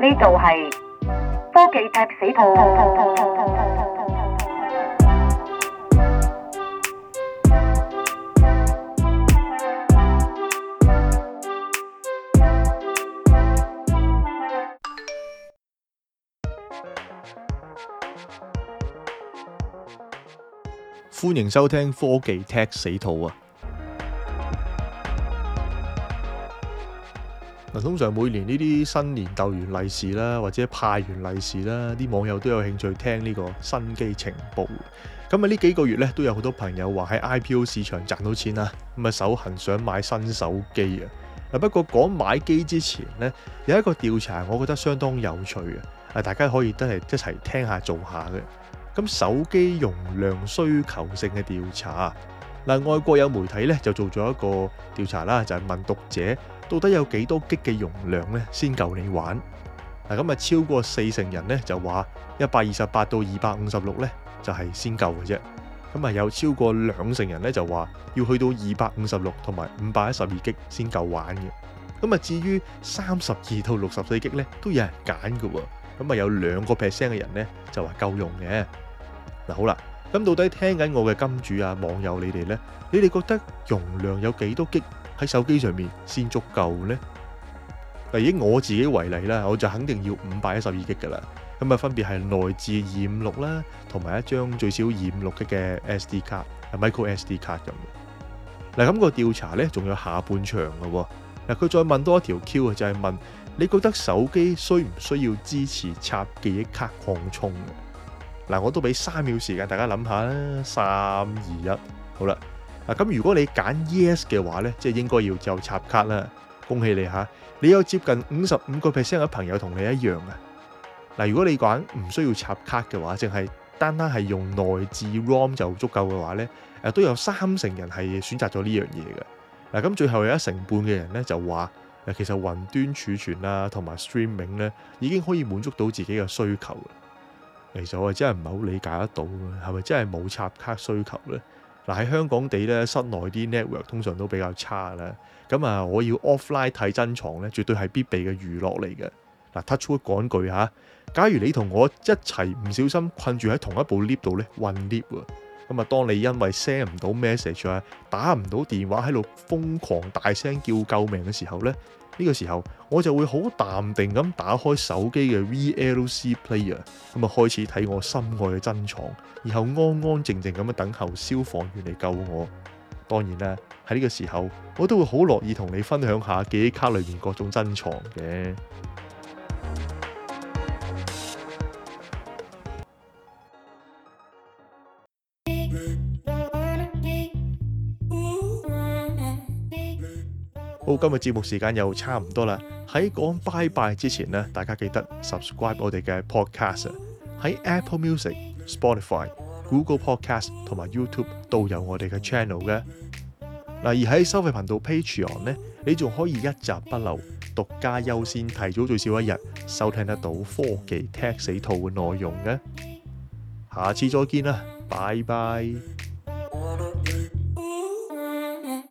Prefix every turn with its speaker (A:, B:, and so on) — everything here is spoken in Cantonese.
A: 呢度係科技踢死兔。
B: 歡迎收聽科技踢死兔啊！通常每年呢啲新年逗完利是啦，或者派完利是啦，啲網友都有興趣聽呢個新機情報。咁呢幾個月咧，都有好多朋友話喺 IPO 市場賺到錢啦，咁手痕想買新手機啊。不過講買機之前呢，有一個調查，我覺得相當有趣嘅，大家可以都係一齊聽下做下嘅。咁手機容量需求性嘅調查，外國有媒體咧就做咗一個調查啦，就係問讀者到底有幾多 G 嘅容量咧先夠你玩。咁超過40%人咧就話128到256咧就係先夠嘅啫。咁有超過20%人咧就話要去到256同埋512 G 先夠玩嘅。咁至於32到64 G 咧都有人揀嘅喎。咁有2% 嘅人咧就話夠用嘅。好啦，咁到底聽緊我嘅金主啊網友你哋呢？你哋覺得容量有幾多 G 喺手機上面先足夠呢？以我自己為例啦，我就肯定要512 G 噶啦。咁分別係內置256啦，同埋一張最少256 G 嘅 SD 卡，micro SD 卡咁。咁個調查呢仲有下半場嘅喎。佢再問多一條 Q 就係問你覺得手機需唔需要支持插記憶卡擴充？我都俾3秒時間大家諗下啦，3、2、1，好啦。咁如果你揀 Yes 嘅話呢，即係應該要就插卡啦。恭喜你嚇，你有接近55% 嘅朋友同你一樣啊。如果你揀唔需要插卡嘅話，淨係單係用內置 ROM 就足夠嘅話呢，都有30%人係選擇咗呢樣嘢嘅。咁最後有1成半嘅人呢就話，其實雲端儲存啦同埋 streaming 呢已經可以滿足到自己嘅需求。其實我真係唔係好理解得到，係咪真係冇插卡需求呢？喺香港地咧，室內啲 network 通常都比較差啦。咁我要 offline 睇珍藏咧，絕對係必備嘅娛樂嚟嘅。touchwood 講句嚇，假如你同我一齊唔小心困住喺同一部 lift 度咧，混 lift 啊，當你因為 send 唔到 message 啊，打唔到電話喺度瘋狂大聲叫救命嘅時候咧，呢個時候我就會好淡定咁打開手機嘅 VLC player， 開始睇我心愛嘅珍藏，然後安安靜靜咁樣等候消防員嚟救我。當然啦，喺呢個時候我都會好樂意同你分享下記憶卡裏面各種珍藏嘅。好，今日節目時間又差唔多啦。喺講拜拜之前呢，大家記得 subscribe 我哋嘅 podcast， 喺 Apple Music、Spotify、Google Podcast 同埋 YouTube 都有我哋嘅 channel 嘅。而喺收費頻道 Patreon 呢，你仲可以一集不漏、獨家優先、提早最少一日收聽得到科技踢死兔嘅內容嘅。下次再見啦，拜拜。